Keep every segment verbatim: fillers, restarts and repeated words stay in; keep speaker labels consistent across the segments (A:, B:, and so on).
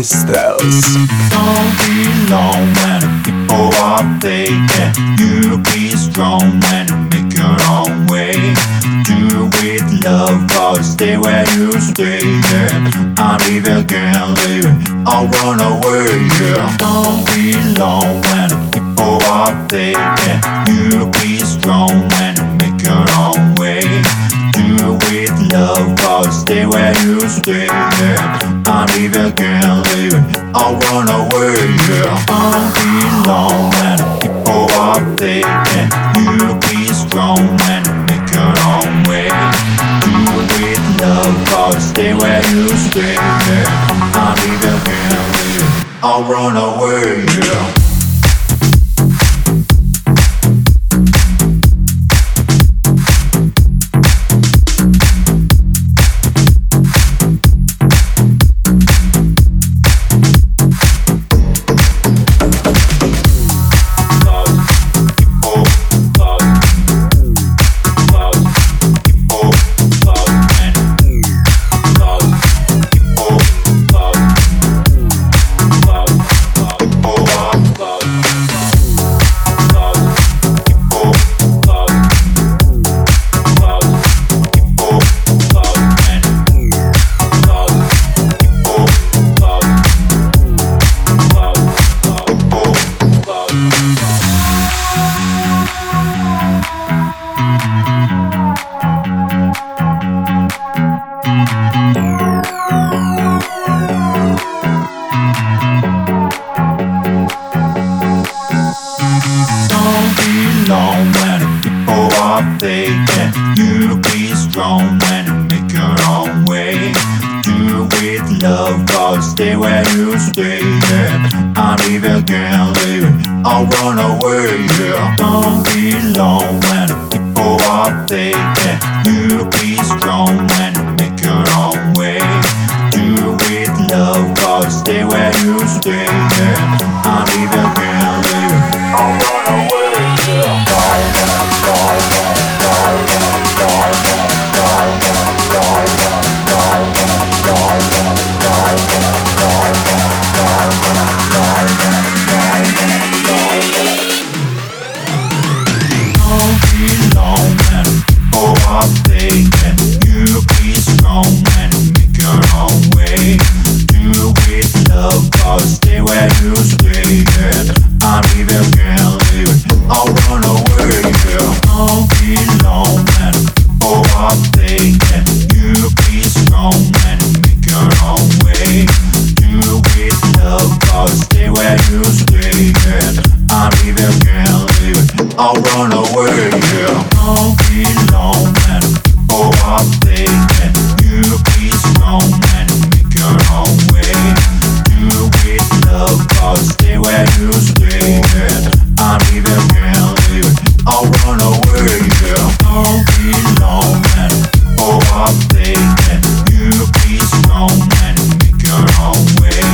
A: Styles.
B: Don't be long when the people are faking. You be strong when you make your own way. Do with love or stay where you stay. Yeah. I'm even can't leave it. I run away. Yeah. Don't be long when the people are faking. You be strong when you make your own way. Do with love or stay where you stay. Yeah. I'm even can't leave it. I run away. Yeah. Don't be long when the people are faking. You be strong when you make your own way. Do with love or stay where you stay. Yeah. I'm even can't leave it. I run away. Yeah. Long when the people are faking. You be strong when you make your own way. Do with love or stay where you stay. Yeah. I'm even can't leave it. I'll run away. Yeah. Don't be long when the people are faking. You be strong when you make your own way. Do with love or stay where you stay. Yeah. I'm even can't leave it. I'll run away. Stay where you stay, yeah. I'm even can't leave it. I'll run away, yeah. Don't be long when people are faking. You be strong when you make your own way. Do with love or stay where you stay, yeah. I'm even can't leave it. I'll run away, yeah. Don't be long when people are faking. You be strong when you make your own way. Do with love or stay where you stay, yeah. I'm even can't leave it. I'll run away, yeah. Don't be long when people are faking. You be strong when you make your own way.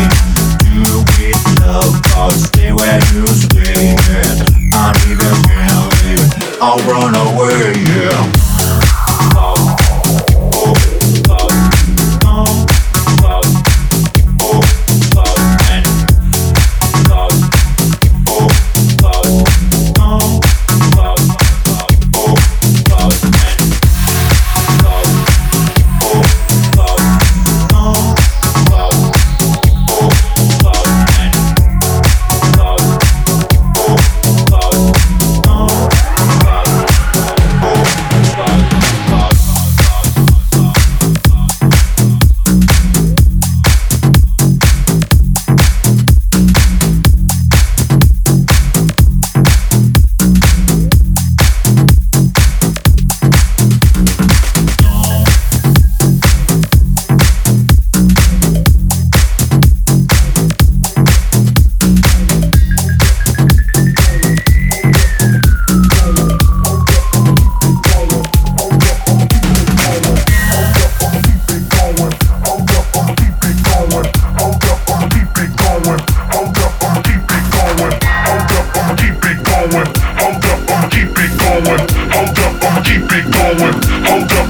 B: Do with love or stay where you stay, yeah. I'm even can't leave it. I'll run away, yeah.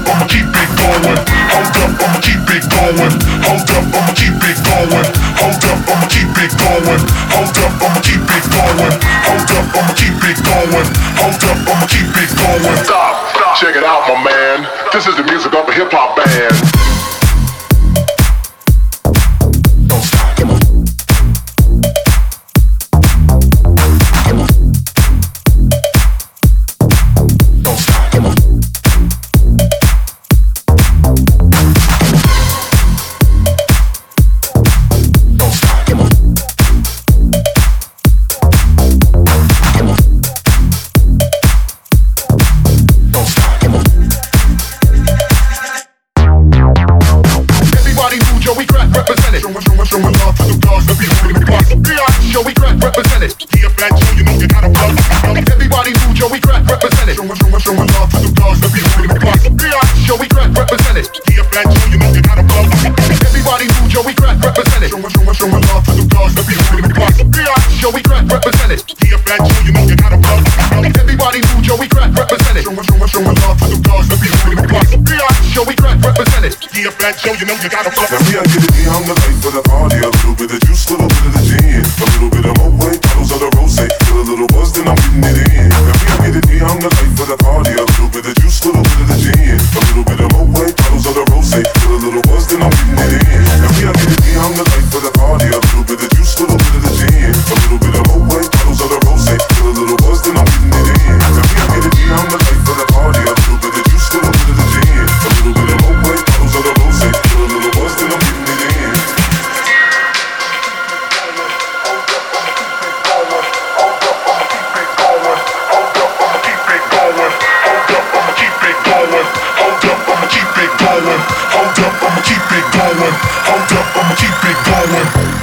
B: going. Hold up, I'ma keep it going. Hold up, I'ma keep it going. Hold up. it going. Hold up, I'ma keep it going. Stop, stop. Check it out, my man. This is the music of a hip hop band. Don't stop, come on. Come on. Don't stop, come on. Don't stop, come on. Come on. Don't stop, come on. Everybody move, Joey Crack represented. Showing, showing, showing love to the dogs that be holding the block. Joey Crack represented. Here, Fat Joe, you know you gotta plug. Everybody move, Joey Crack represented. Showing, showing, showing love to the dogs that be holding the block. Joey Crack represented. Here, Fat Joe, you know you gotta plug. Everybody move, Joey Crack represented. Showing, showing, showing love to the dogs that be holding the block. Joey Crack represented. Here, Fat Joe, you know you gotta plug. Everybody move, Joey Crack represented. Showing, showing, showing love to the dogs that be holding the block. Joey Crack represented. Here, Fat Joe, you know you gotta plug.
A: Now me, I get it, me, I'm the life of the party. A little bit of juice, little bit of the gin. A little bit of Moet, bottles of the rosé. Get a little buzz, then I'm getting it in. Now me, I get it, me, I'm the life of the party. A little bit of juice, little bit of the gin. A little bit of Moet, bottles of the rosé. Get a little buzz, then I'm getting it in. Now me, I get it, me, I'm the life of the party. A little bit of juice, little bit of the gin. A little bit of Moet, bottles of the rosé. Get a little buzz, then I'm getting it in. Now me, I get it, me, I'm the life of the party. A little bit of juice, little bit of the gin. A little bit of Moet, bottles of the rosé. Get a little buzz, then I'm getting it in.
B: Hold up, I'ma keep it going. Hold up, I'ma keep it going.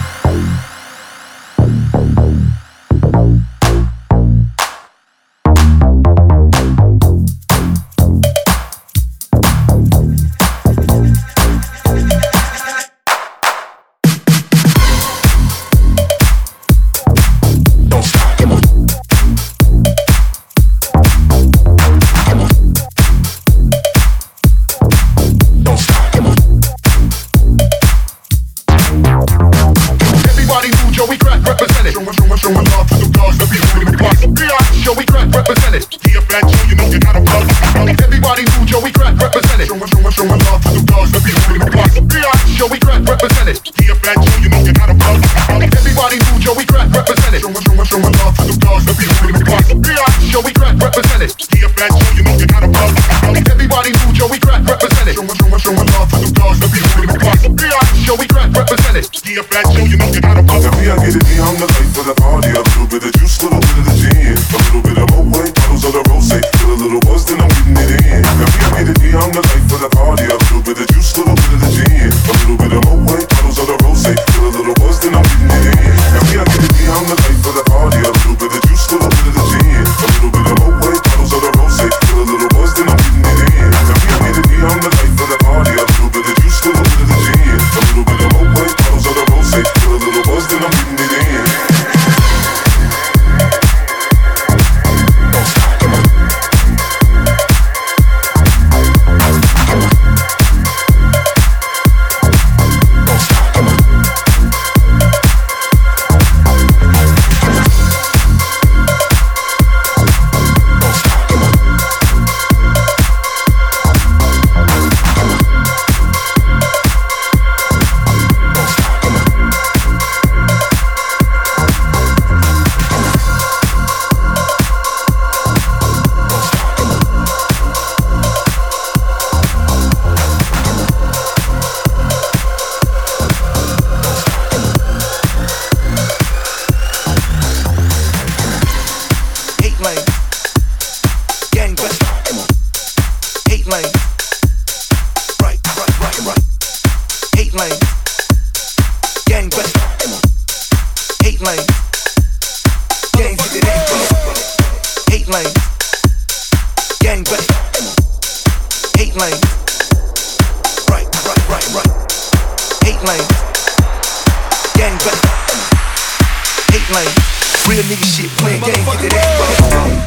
C: Real nigga shit, playing games, get that.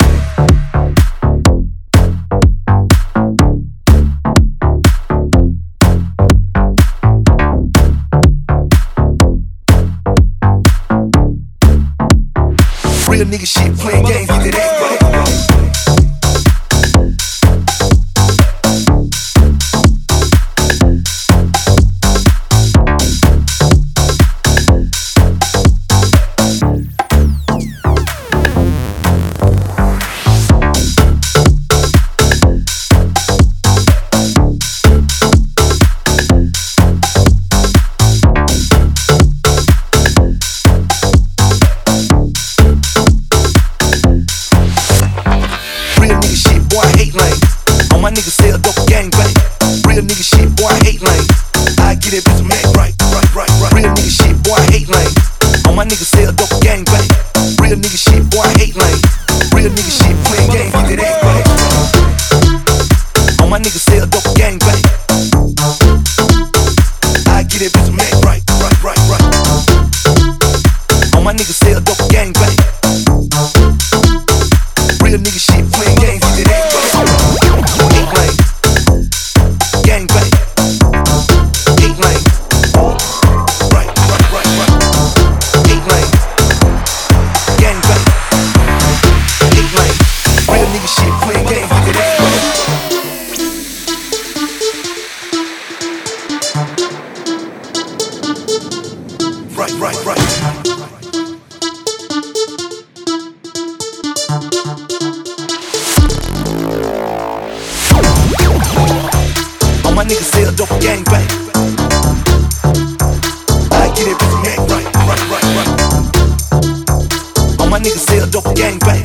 C: Real nigga shit, playing games, get that ass right. My nigga sell dope gang bang. Real nigga shit, boy, I hate lame. I get it, bitch, man, right, right, right, right. Real nigga shit, boy, I hate lame. All my niggas sell dope gang bang. Real nigga shit, boy, I hate lame. Real nigga shit, playing games, get that ass right. All my niggas sell dope gang bang. I get it, bitch, man, right, right, right, right. All my niggas sell dope gang bang. Real nigga shit, playing games, get that ass right. Gang bang, eight lane, right, right, right, right, eight lane, gang bang, eight lane, real nigga shit, playing games, get that right, right, right, right. My niggas sell dope gang bang. I get it, bitch, man, right, right, right, right. All my niggas sell dope gang bang.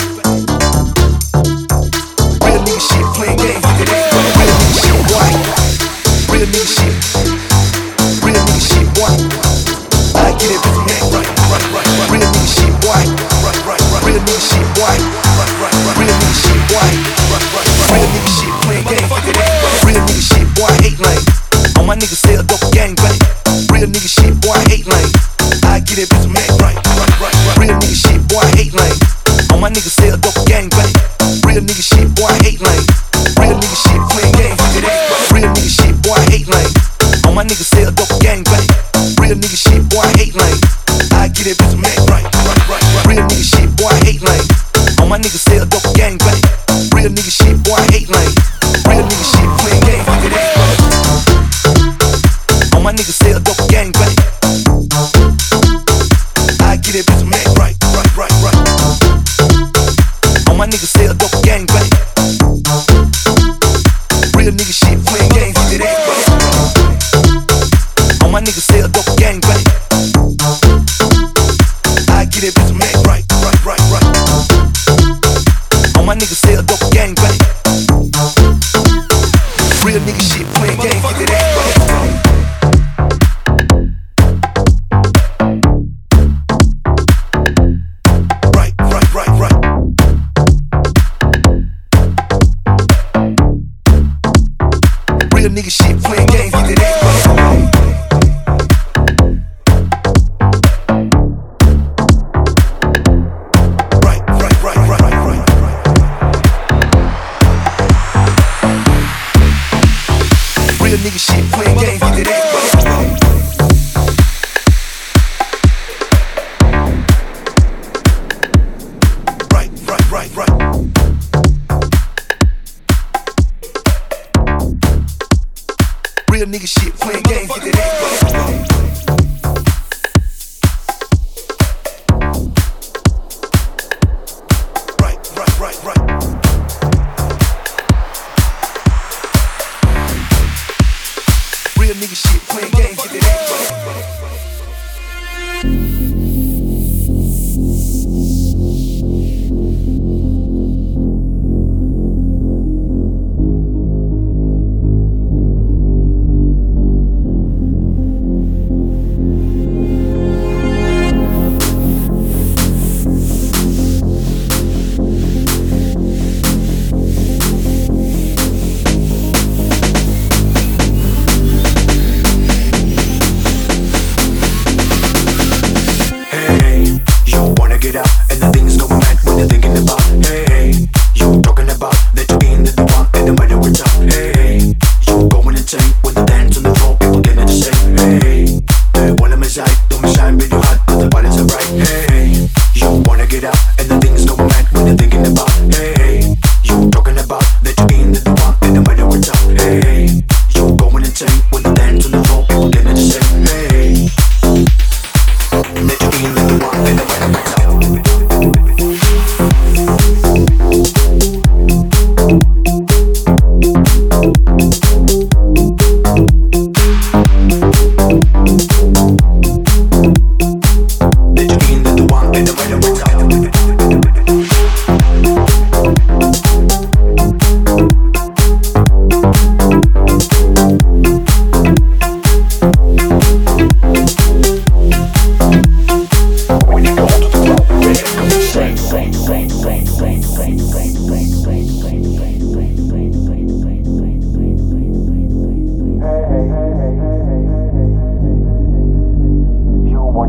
C: Real nigga shit, playing games, get that right. Real nigga shit, boy. Real nigga shit. Real nigga shit, boy. I get it, bitch, man, right, right, right, right. Real nigga shit, boy. Right, right, right. Real nigga shit, boy. Right, right, right. Real nigga shit, boy. Right, right, right. Real nigga shit, playing games, get that right. Real nigga shit, boy, I hate lame. All my niggas sell dope gang bang. Real nigga shit, boy, I hate lame. I get it, bitch, man, right, right, right, right. Real nigga shit, boy, I hate lame. All my niggas sell dope gang bang. Real nigga shit, boy, I hate lame. Real nigga shit, playing games, get that right. Real nigga shit, boy, I hate lame. All my niggas sell dope gang bang. Real nigga shit, boy, I hate lame. I get it, bitch, man, right, right, right, right. Real nigga shit, boy, I hate lame. All my niggas sell dope gang bang. Real nigga shit, boy, I hate lame. Real nigga shit, playing games, get that right. All my niggas sell dope gang bang. I get it, bitch, man, right, right, right, right. All my niggas sell dope gang bang. Real nigga shit, playing games, get that right. All my niggas sell dope gang bang. I get it, bitch, man, right, right, right, right. All my niggas sell dope gang bang. Real nigga shit, playing games, get that right. Real nigga shit, playing games, get that right.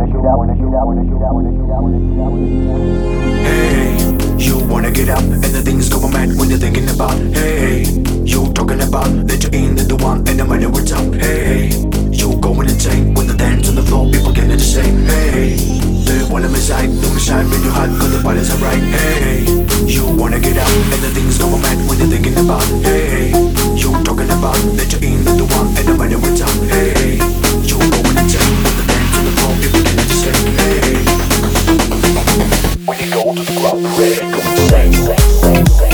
D: Hey, you wanna get up and the things go mad when you're thinking about. Hey, you talking about that you're in the one and no matter what's up. Hey, you going insane when the dance on the floor, people getting the same. Hey, do you wanna miss out? Don't miss out when you're hot, cause the body's alright. Hey, you wanna get up and the things go mad when you're thinking about. Hey, you talking about that you're in the one and no matter what's up. Hey, you going insane when the dance on the floor, people getting the same. Hey, when you go to the club, ready, go insane, insane, insane, insane.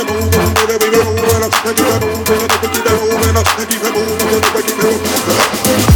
A: it moving, baby, we be moving, and keep it moving, and keep it moving, and keep it moving, and keep it moving.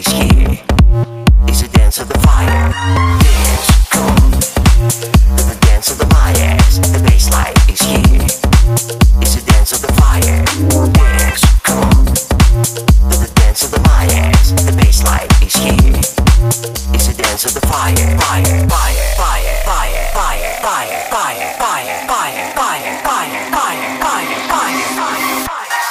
D: is here. It's a dance of the fire. Dance, come on. The dance of the Mayas. The bassline is here. It's a dance of the fire. Dance, come on. The dance of the Mayas. The bassline is here. It's a dance of the fire. Fire, fire, fire, fire, fire, fire, fire, fire, fire, fire, fire, fire, fire, fire, fire, fire.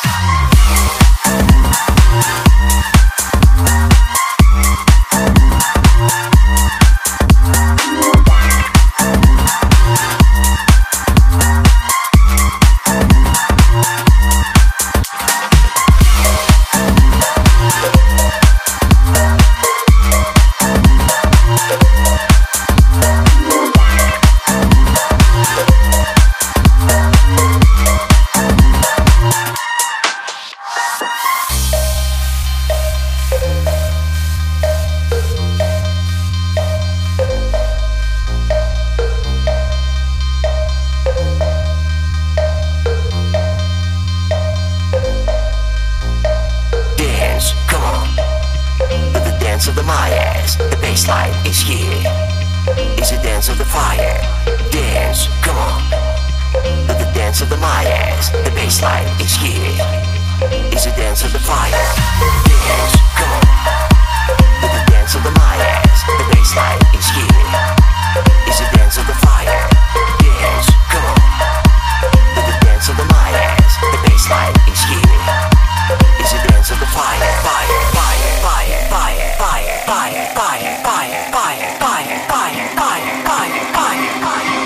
D: Of the Mayas, the bassline is here. It's a dance of the fire. Dance, come on. The dance of the Mayas, the bassline is here. It's a dance of the fire. Dance, come on. The dance of the Mayas, the bassline is here. It's a dance of the fire. Dance, come on. The dance of the Mayas, the bassline is here. It's a dance of the fire, fire, fire, fire, fire, fire, fire, fire, fire, fire, fire, fire, fire, fire, fire, fire.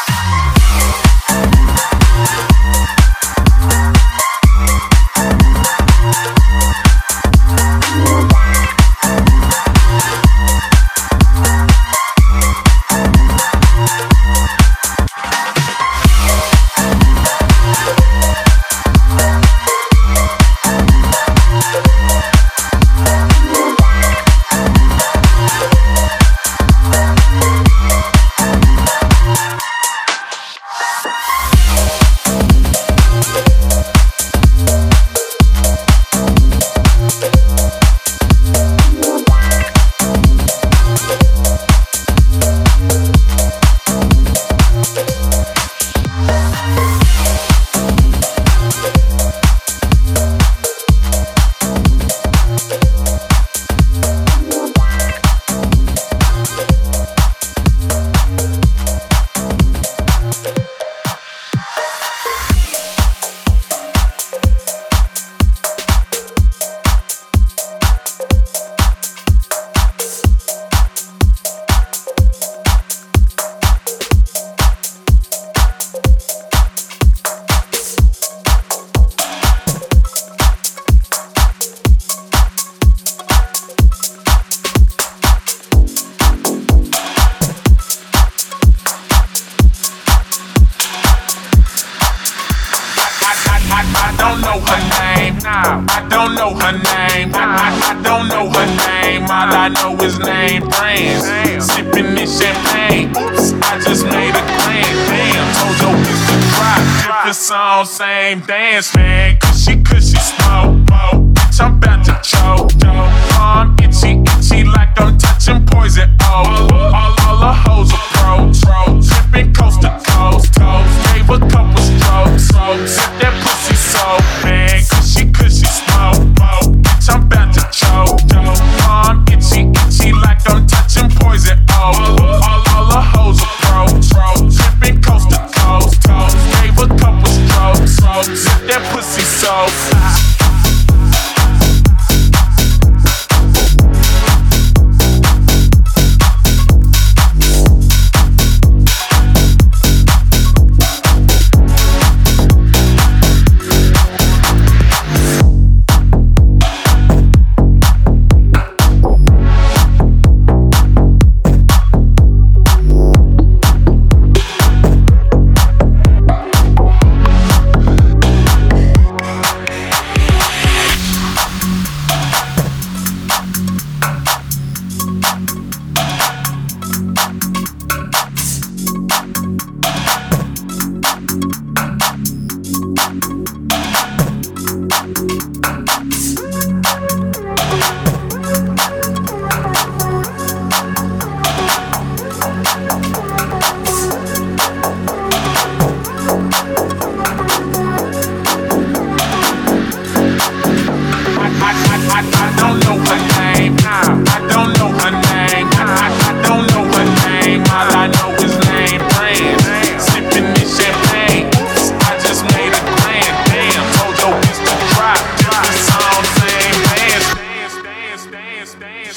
E: Same dance, man. Cushy, cushy, smoke, smoke. Bitch, I'm about to choke, choke. I'm itchy, itchy, like I'm touching poison. Oh, all, all the hoes approach, tripping coast to coast, toast. Gave a couple strokes, strokes. Sip that pussy so, man. Cushy, cushy, smoke, smoke. Bitch, I'm about to choke, choke. I'm itchy, itchy, like I'm touching poison. Oh, all, all the hoes approach, tripping coast to coast, toast. Gave a couple strokes. Sip that pussy so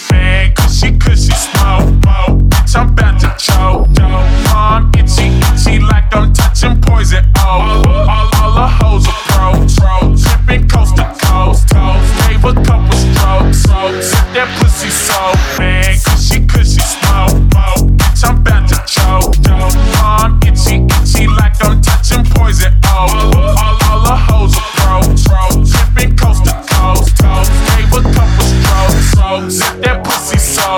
E: man. Cushy, cushy, smoke, smoke. Bitch, I'm about to choke, choke. I'm itchy, itchy like I'm touching poison. Oh, all, all the hoes are pros, pros. Tripping coast to coast, coast. Gave a couple strokes, strokes. Set that pussy so, man. Cushy, cushy, smoke, smoke. Bitch, I'm about to choke, choke. I'm itchy, itchy like I'm touching poison. Oh, all, all the hoes are pros, pros. Tripping coast to coast, coast. Gave a couple strokes, strokes. Set that pussy so.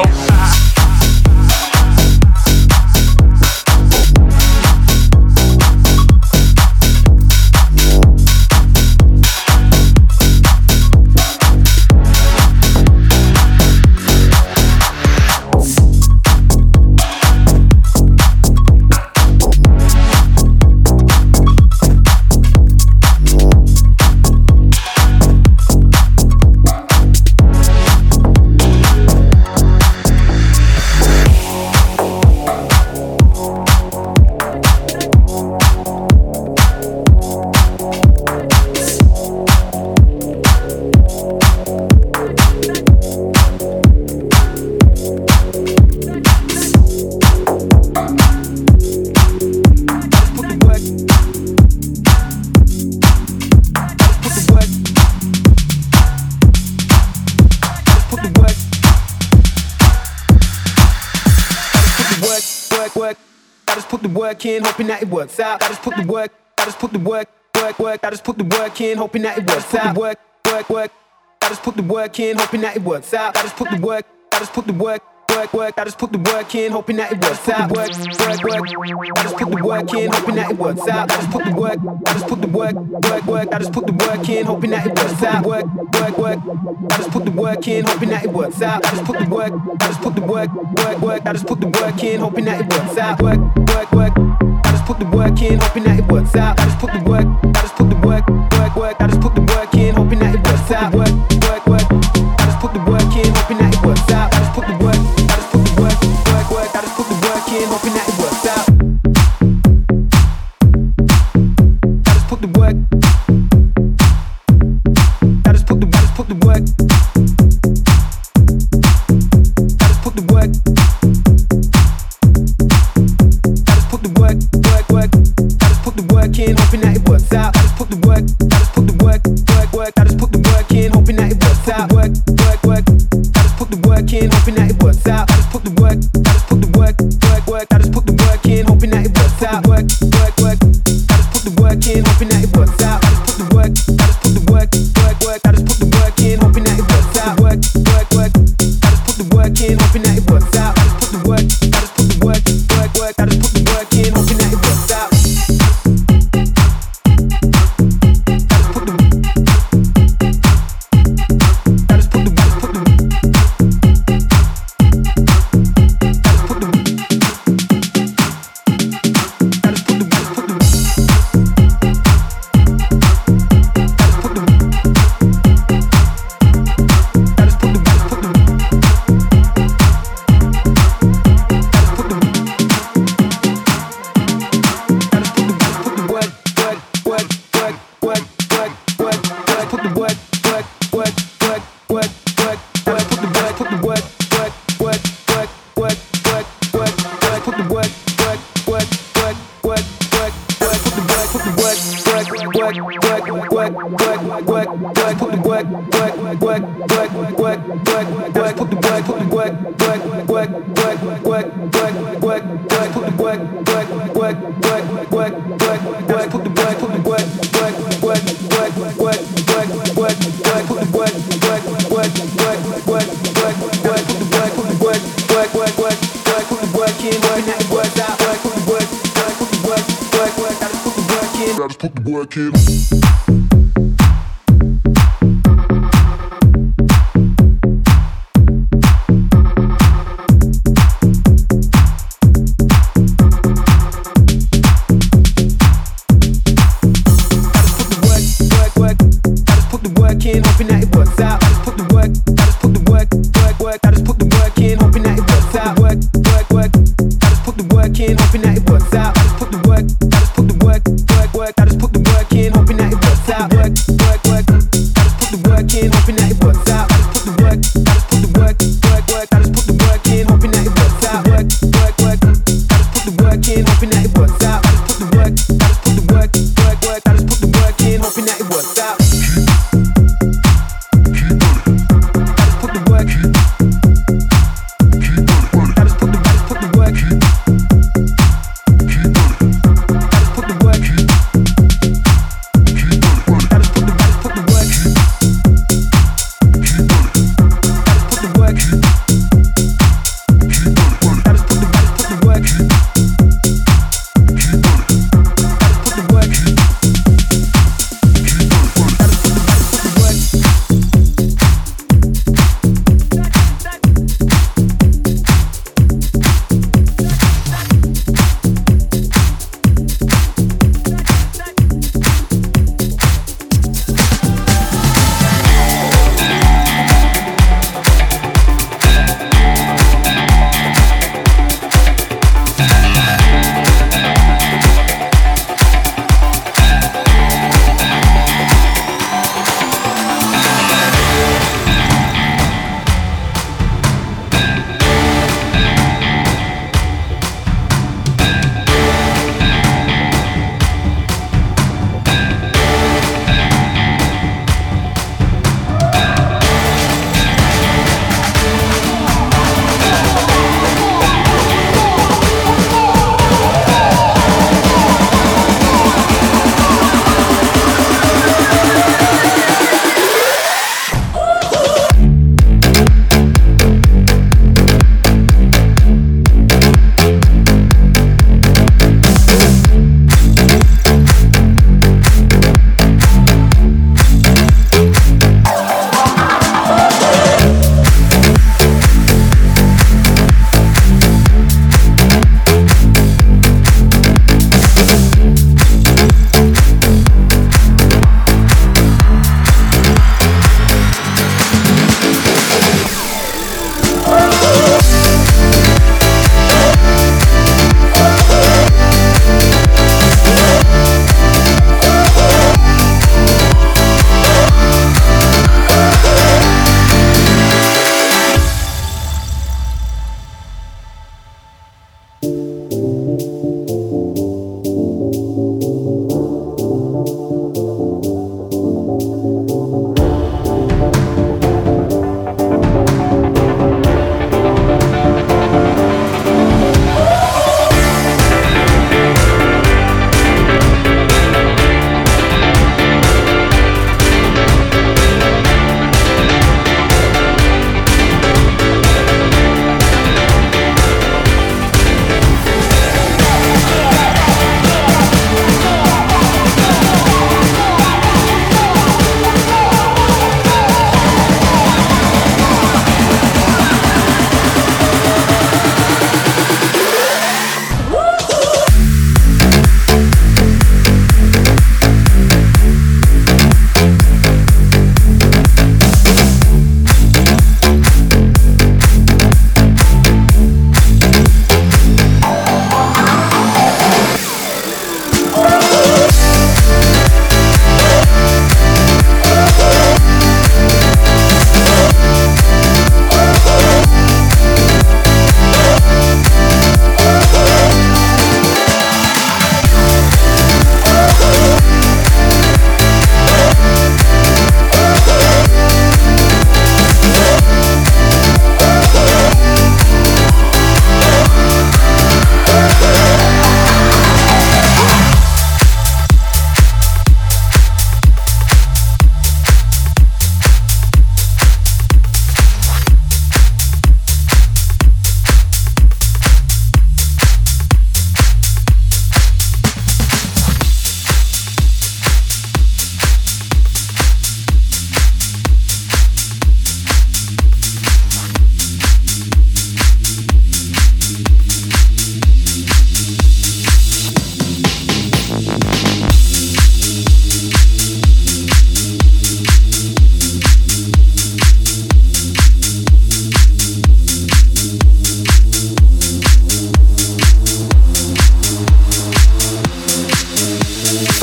C: In, hoping that it works out. I just put the work, I just put the work, work, work. I just put the work in, hoping that it works out. Work, work, work. I just put the work in, hoping that it works out. I just put the work, I just put the work, work, work. I just put the work in, hoping that it works out. Work, work, work. I just put the work in, hoping that it works out. I just put the work, I just put the work, work, work. I just put the work in, hoping that it works out. Work, work, work. I just put the work in, hoping that it works out. I just put the work, I just put the work, work, work. I just put the work in, hoping that it works out. Work, work, work. Put the work in, hoping that it works out. I just put the work, I just put the work, work, work. I just put the work in, hoping that it works out. Work, work, work. I just put the work in, hoping that it works out. I just put the work, I just put the work, work, work. I just put the work in, hoping that it works out. I just put the work, I just put the, I just put the work, I just put the work. In, hoping that it works out. I just put the work, I just put the work, work, work. I just put the work in, hoping that it works out. Work, work, work. I just put the work in, hoping that it works out. I just put the work, I just put the work, work, work. I just put the work in, hoping that it works out. Work, work, work. I just put the work in, hoping that it works out. I just put the work, I just put the work, work, work. I just put the work in, hoping that it works out. Work, work, work. I just put the work in, hoping that it works out. I just put the work, I just put the work, work, work. I just put the work in, hoping that it works out.
A: Just put the work in.
C: Work, work, work, work. I just put the work, I just put the work, work, work.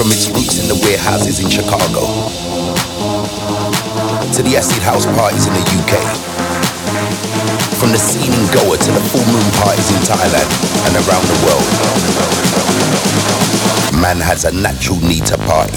F: From its roots in the warehouses in Chicago to the acid house parties in the U K, from the scene in Goa to the full moon parties in Thailand and around the world, man has a natural need to party.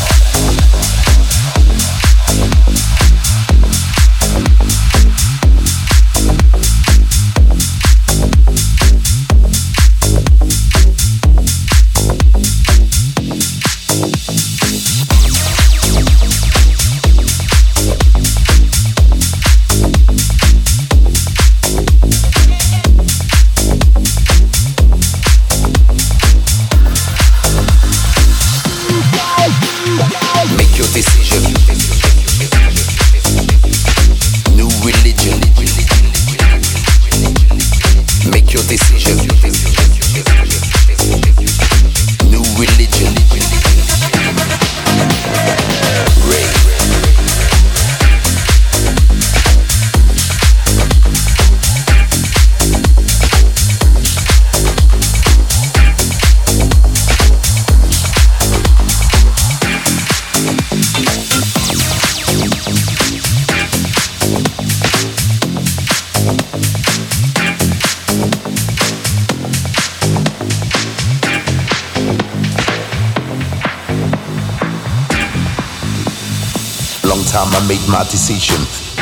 F: I made my decision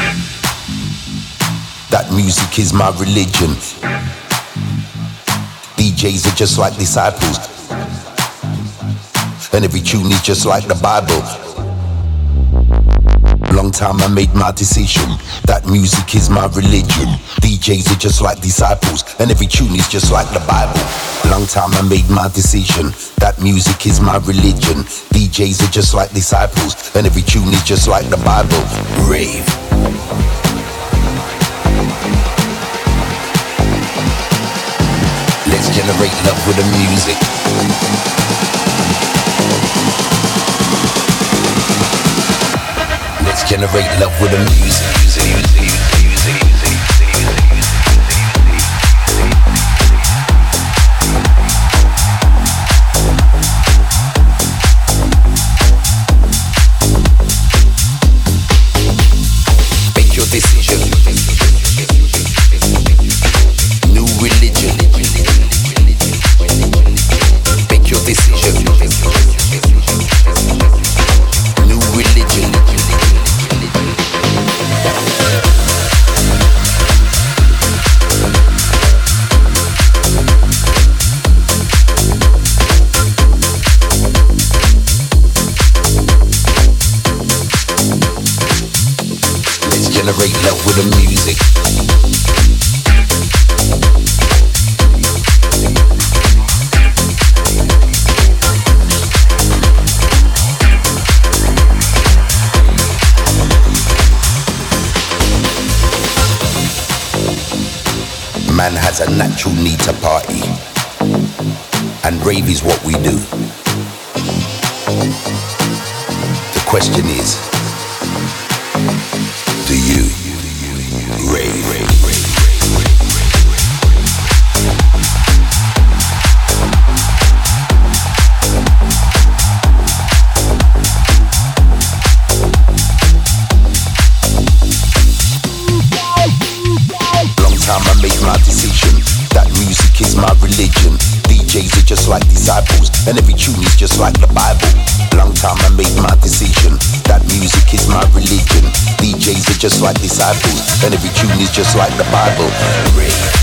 F: that music is my religion. D Js are just like disciples, and every tune is just like the Bible. Long time I made my decision that music is my religion. D Js are just like disciples, and every tune is just like the Bible. Long time I made my decision that music is my religion. D Js are just like disciples, and every tune is just like the Bible. Rave. Let's generate love with the music. Let's generate love with the music. Make your decision. New religion. Make your decision. New religion. Generate love with the music. Man has a natural need to party, and rave is what we do. The question is, do you rave? Long time I made my decision that music is my religion. D Js are just like disciples, and every tune is just like the Bible. Long time I made my decision that music is my religion. D Js are just like disciples, and every tune is just like the Bible. Rave.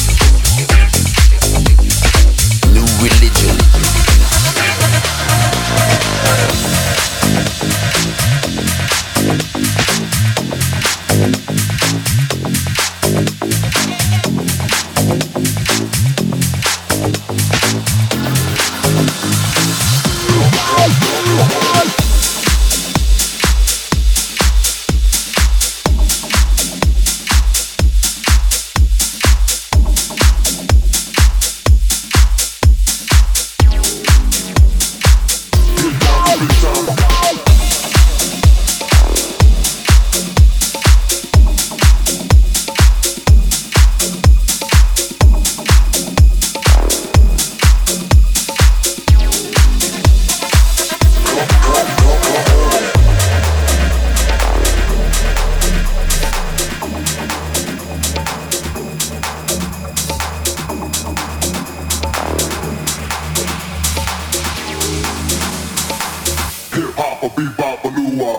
F: Decision. New religion.
A: a bebop a loo-wop.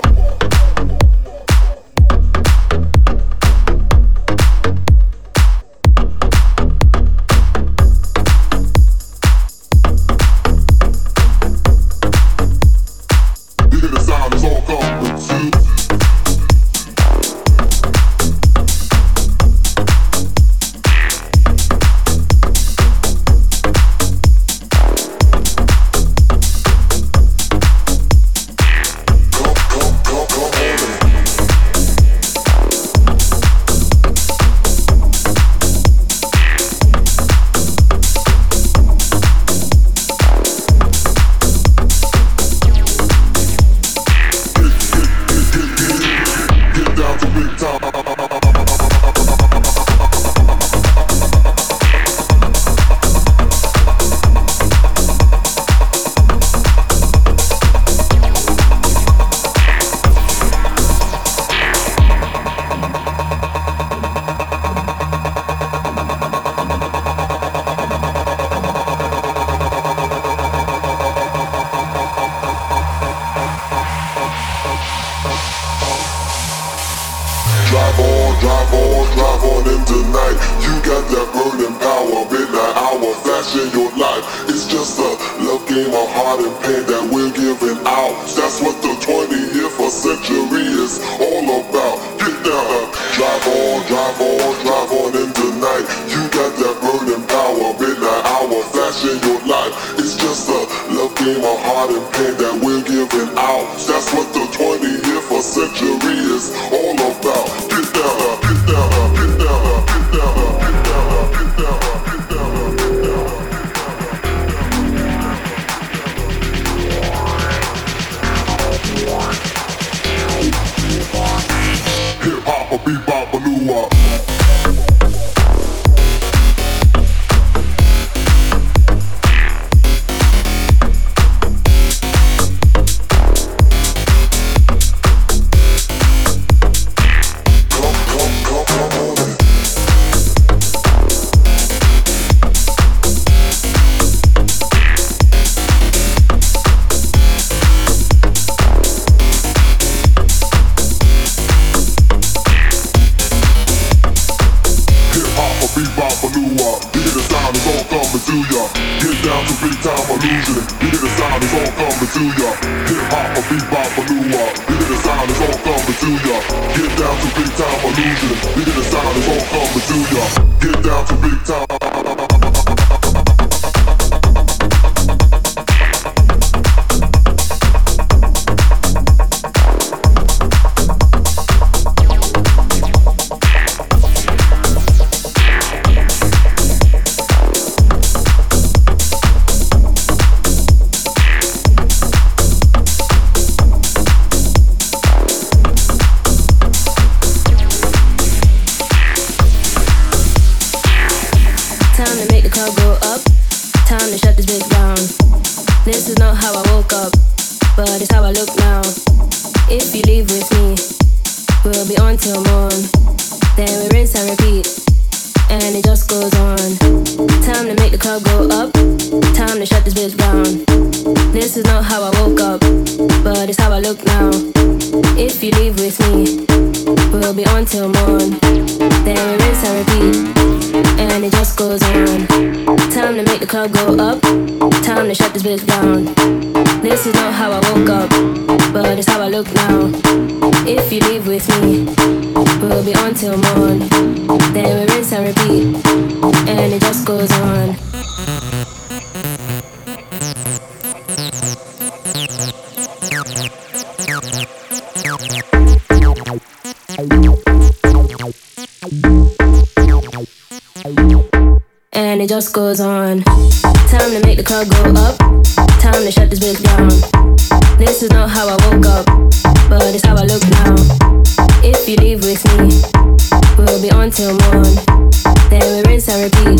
G: And it just goes on. Time to make the club go up. Time to shut this bitch down. This is not how I woke up, but it's how I look now. If you leave with me, we'll be on till morn. Then we rinse and repeat.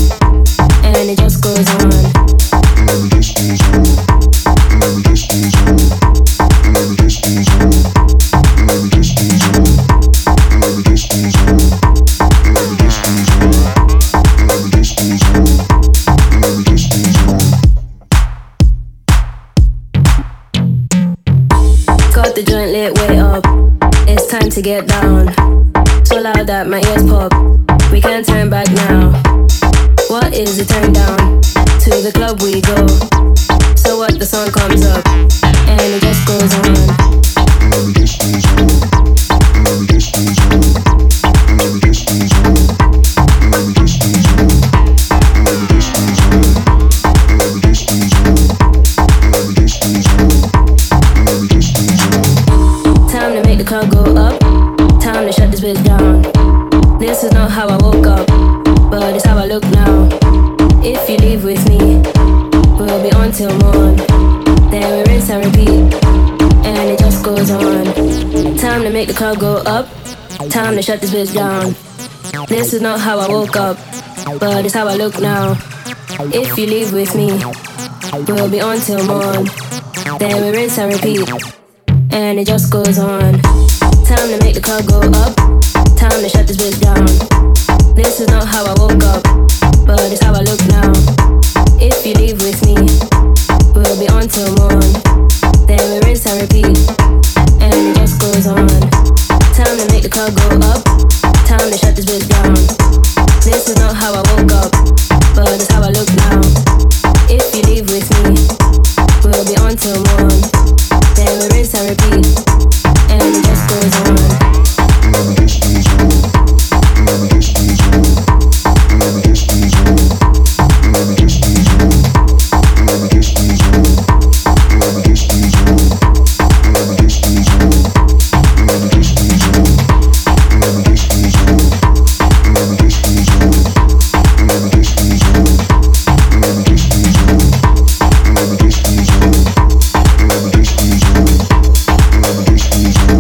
G: And it just goes on. And it just goes on. And it just goes on. And it just goes on. And it just goes on. And it just goes on. And it just goes on. And it just goes on. And it just goes on. Got the joint lit way up. It's time to get down. So loud that my ears pop. We can't turn back now. What is the turn down? To the club we go. So what, the song comes up and it just goes on. And it just goes on. And it just goes on. And it just goes on. And it just goes on. And it just goes on. And it just goes on. And it just goes on. And it just goes on. Time to make the club go up. Time to shut this bitch down. This is not how I woke up, but it's how I look now. If you leave with me, we'll be on till morn. Then we rinse and repeat, and it just goes on. Time to make the club go up. Time to shut this bitch down. This is not how I woke up, but it's how I look now. If you leave with me, we'll be on till morn. Then we rinse and repeat, and it just goes on. Time to make the club go up. Time to shut this bitch down. This is not how I woke up, but it's how I look now. If you leave with me, we'll be on till morn. Then we rinse and repeat, and it just goes on. Time to make the club go up. Time to shut this bitch down. This is not how I woke up, but it's how I look now. If you leave with me, we'll be on till morn. Then we rinse and repeat, and it just goes on. And it just goes on. And it just goes on. And it just goes on. And it just goes on. And it just goes on. And it just goes on. And it just goes on. And it just goes on. And it just goes on. And it just goes on. And it just goes on. And it just goes on. And it just goes on. And it just goes on. And it just goes on. And it just goes on.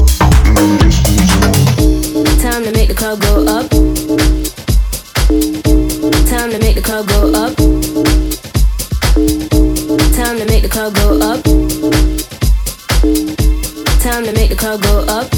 G: Time to make the club go up. Time to make the club go up. Time to make the club go up. Time to make the club go up.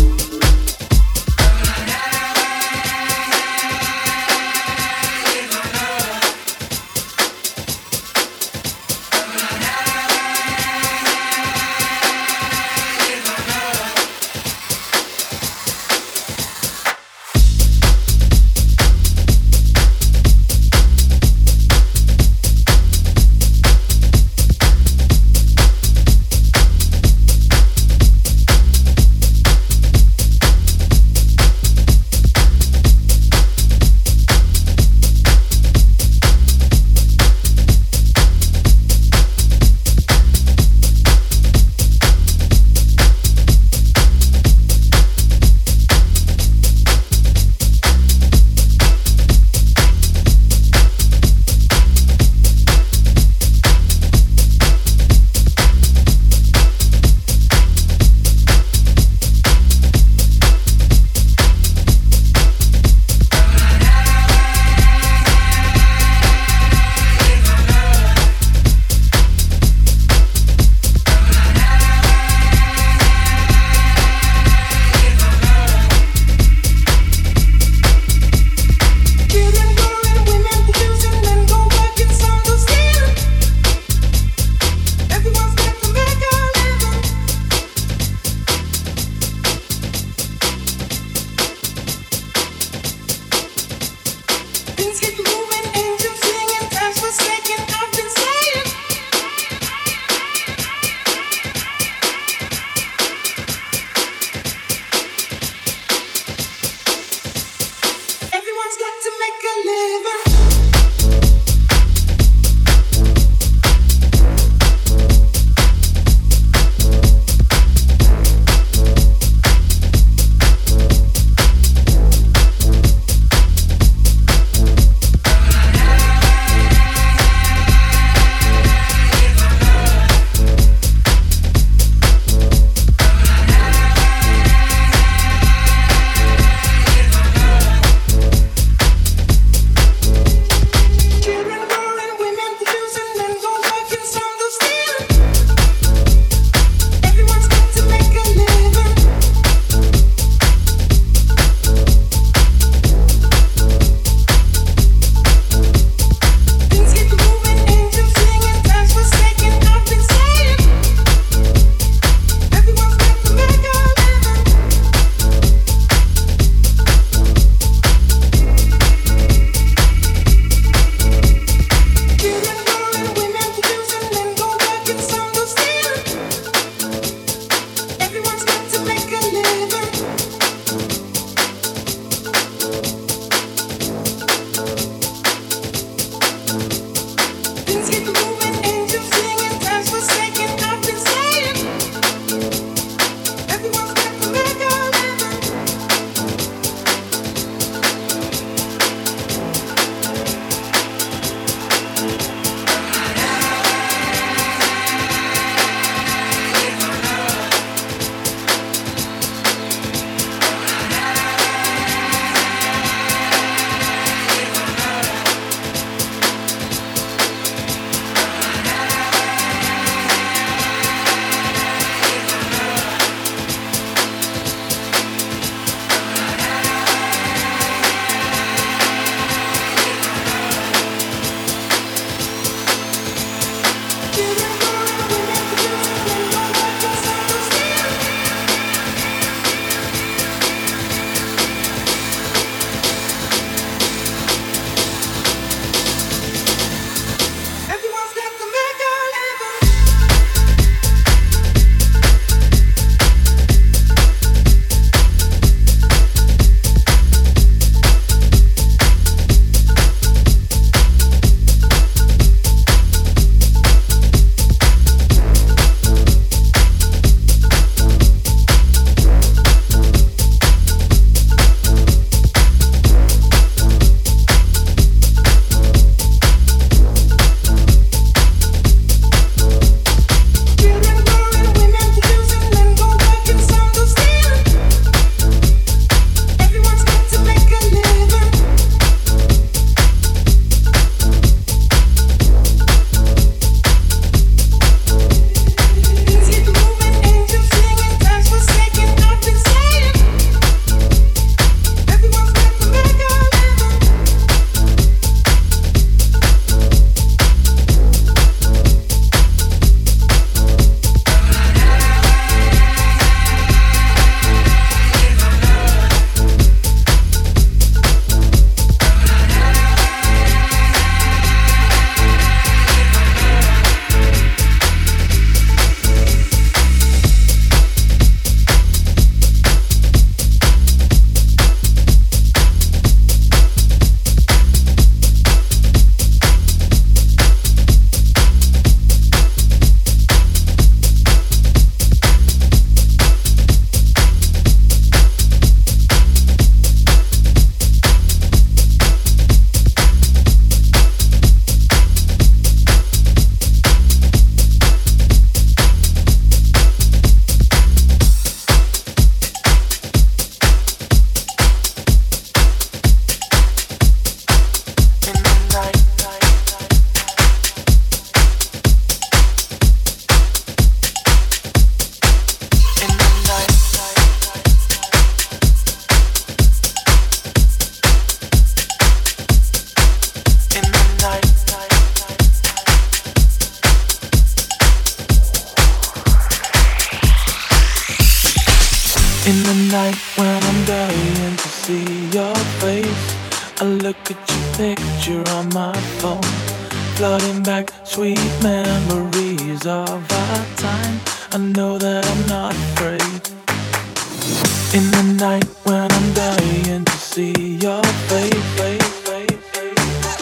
H: In the night when I'm dying to see your face, I look at your picture on my phone, flooding back sweet memories of our time. I know that I'm not afraid. In the night when I'm dying to see your face, face, face, face.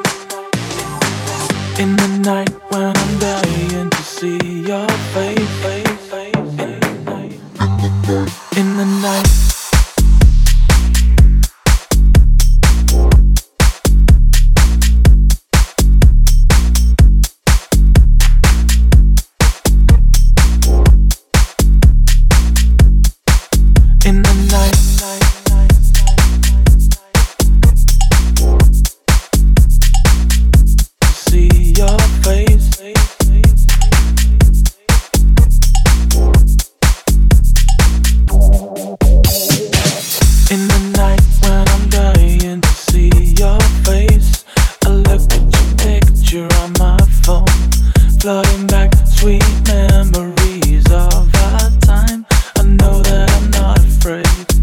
H: In the night when I'm dying to see your face, face, face. In the night. In the night, see your face. In the night when I'm dying to see your face, I look at your picture on my phone, flooding back sweet memories of our time. I know that I'm not afraid.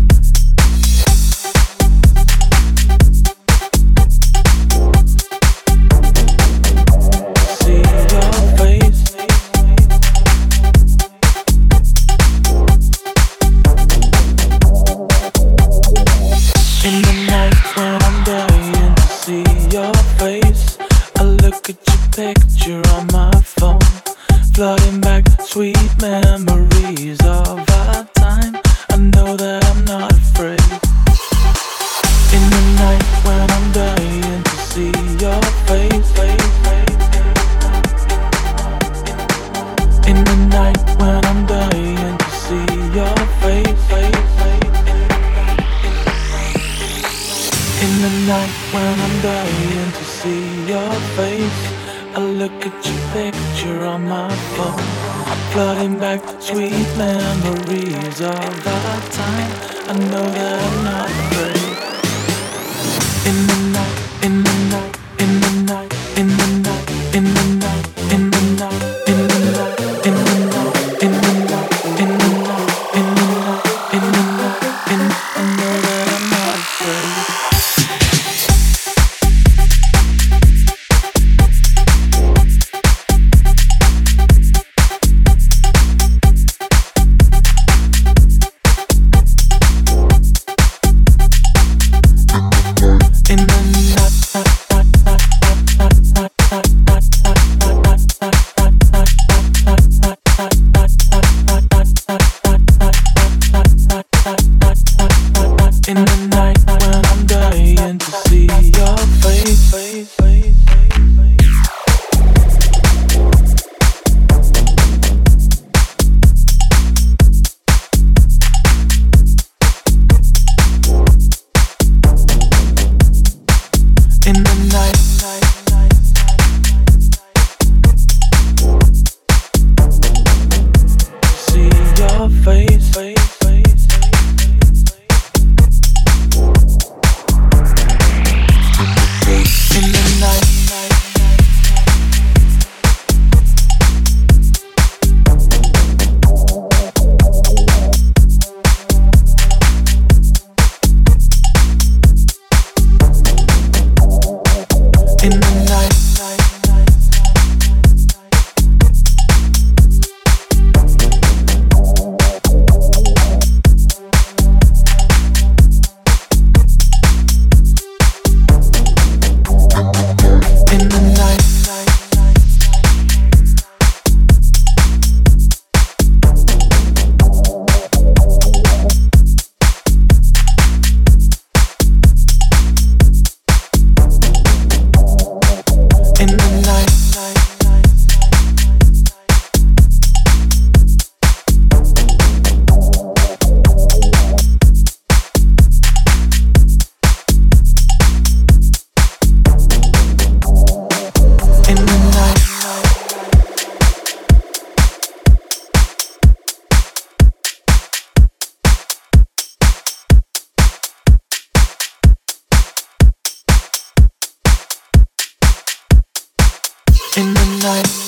H: See your face. In the night when I'm dying to see your face, I look at your picture on my phone, flooding back sweet memories of our time. I know that I'm not afraid. In the night when I'm dying to see your face, face, face. In the night when I'm dying to see your face, face, face. In the night when I'm dying to see your face, I look at your picture on my phone, flooding back sweet memories of our time. I know that I'm not afraid. In the night, in the night, in the night, in the night, in the night, in the night, in the night, in the night, in the night, in the night, in the night, in the night, in the night, I know that I'm not afraid. In the night when I'm dying to see your face, face, face, face. In the night, see your face, face, face. In the night. In the night. In the night. In the night. In the night. In the night.